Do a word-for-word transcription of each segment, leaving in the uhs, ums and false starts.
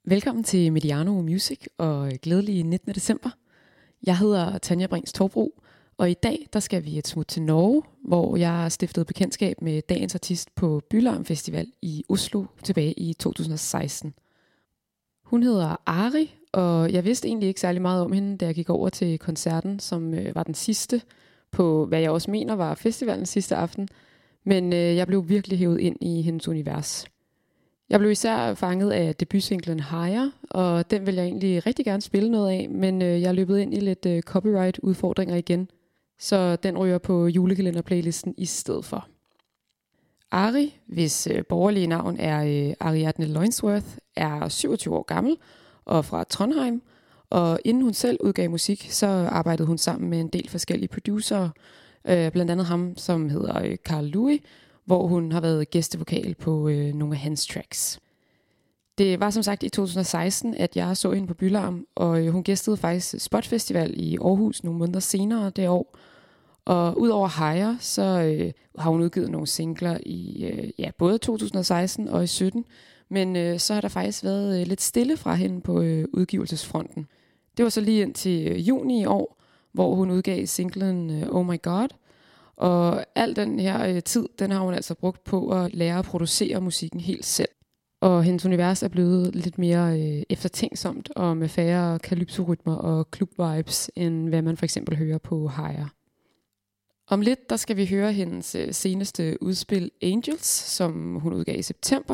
Velkommen til Mediano Music og glædelig nittende december. Jeg hedder Tanja Brings Torbro, og i dag der skal vi et smut til Norge, hvor jeg stiftede bekendtskab med dagens artist på Bylarm Festival i Oslo tilbage i to tusind og seksten. Hun hedder Ari, og jeg vidste egentlig ikke særlig meget om hende, da jeg gik over til koncerten, som øh, var den sidste på, hvad jeg også mener var festivalens sidste aften. Men øh, jeg blev virkelig hævet ind i hendes univers. Jeg blev især fanget af debutsinglen Higher, og den vil jeg egentlig rigtig gerne spille noget af, men øh, jeg er løbet ind i lidt øh, copyright-udfordringer igen, så den ryger på julekalenderplaylisten i stedet for. Ari, hvis øh, borgerlige navn er øh, Ariadne Loinsworth, er syvogtyve år gammel og fra Trondheim, og inden hun selv udgav musik, så arbejdede hun sammen med en del forskellige producerer, øh, blandt andet ham, som hedder øh, Carl Louis, hvor hun har været gæstevokal på øh, nogle af hans tracks. Det var som sagt i to tusind og seksten, at jeg så hende på Bylarm, og øh, hun gæstede faktisk Spot Festival i Aarhus nogle måneder senere det år. Og udover Higher, så øh, har hun udgivet nogle singler i øh, ja, både to tusind og seksten og i sytten, men øh, så har der faktisk været øh, lidt stille fra hende på øh, udgivelsesfronten. Det var så lige indtil øh, juni i år, hvor hun udgav singlen øh, Oh My God. Og al den her øh, tid, den har hun altså brugt på at lære at producere musikken helt selv. Og hendes univers er blevet lidt mere øh, eftertænksomt og med færre calypso-rytmer og club-vibes, end hvad man for eksempel hører på Higher. Om lidt, der skal vi høre hendes øh, seneste udspil Angels, som hun udgav i september.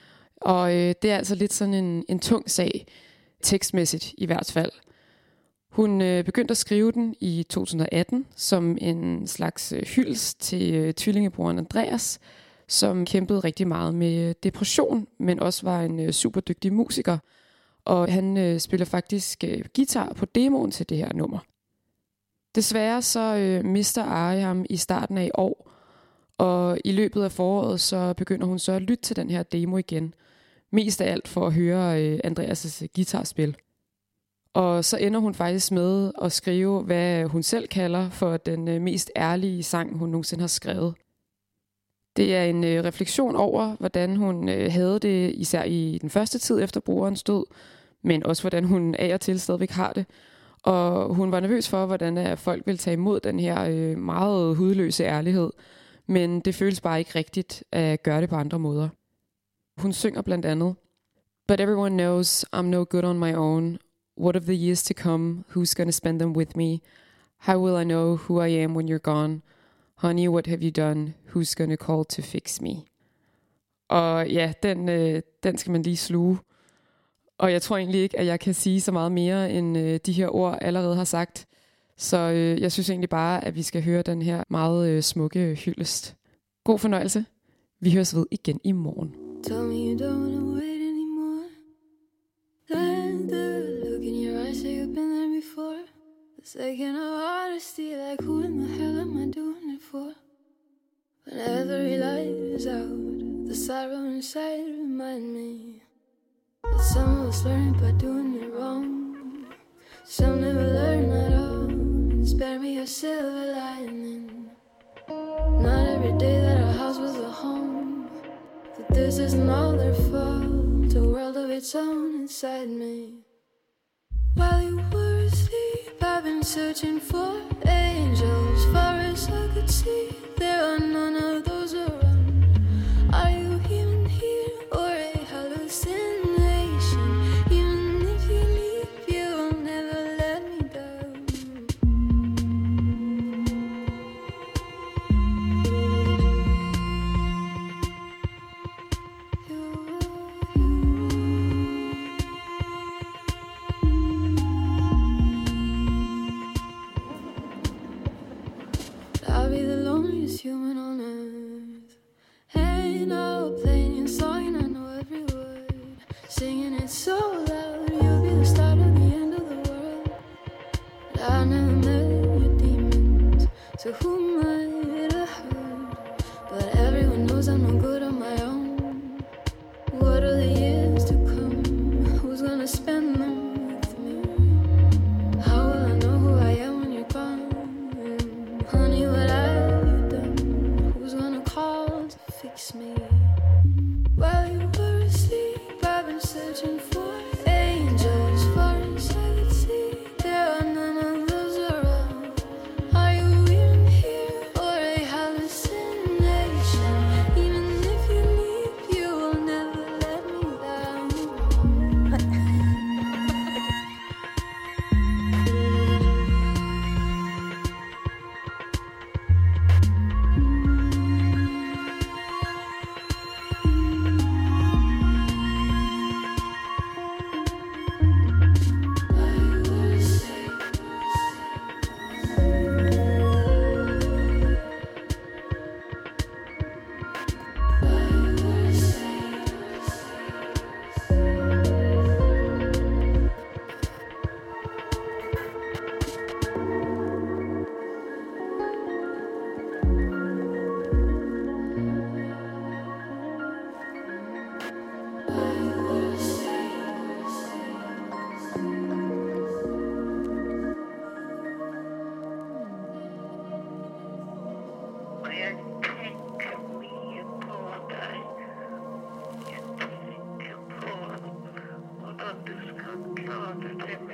Og øh, det er altså lidt sådan en, en tung sag, tekstmæssigt i hvert fald. Hun øh, begyndte at skrive den i to tusind og atten som en slags øh, hyldest til øh, tvillingebroren Andreas, som kæmpede rigtig meget med depression, men også var en øh, super dygtig musiker. Og han øh, spiller faktisk øh, guitar på demoen til det her nummer. Desværre så øh, mister Ari ham i starten af i år, og i løbet af foråret så begynder hun så at lytte til den her demo igen. Mest af alt for at høre øh, Andreas' guitarspil. Og så ender hun faktisk med at skrive, hvad hun selv kalder for den øh, mest ærlige sang, hun nogensinde har skrevet. Det er en øh, refleksion over, hvordan hun øh, havde det, især i den første tid efter brorens død, men også hvordan hun af og til stadigvæk har det. Og hun var nervøs for, hvordan at folk ville tage imod den her øh, meget hudløse ærlighed, men det føles bare ikke rigtigt at gøre det på andre måder. Hun synger blandt andet: But everyone knows I'm no good on my own. What of the years to come? Who's gonna spend them with me? How will I know who I am when you're gone? Honey, what have you done? Who's gonna call to fix me? Og ja, den, øh, den skal man lige sluge. Og jeg tror egentlig ikke, at jeg kan sige så meget mere, end øh, de her ord allerede har sagt. Så øh, jeg synes egentlig bare, at vi skal høre den her meget øh, smukke hyldest. God fornøjelse. Vi høres ved igen i morgen. Tell me you don't wanna wait anymore. Let the look in your eyes say you've been there before. The second of honesty, like who in the hell am I doing it for? When every light is out, the sorrow inside remind me that some of us learn by doing it wrong. Some never learn at all. Spare me a silver lining. Not every day that our house was a home. That this isn't all their fault. A world of its own inside me. While you were asleep, I've been searching for angels. Far as I could see, there are none of those around. Are you even here or a hallucination? Even if you leave, you will never let me down. You, you. I'll be the loneliest human on earth. Ain't no playing your song and I know every word. Singing it so loud, you'll be the start of the end of the world. But I never met your demons, so who might have heard? But everyone knows I'm no good on my own. What are the years to come? Who's gonna spend them with me? How will I know who I am when you're gone? Honey, what have you done? Who's gonna call to fix me? While you were asleep, I've been searching for September.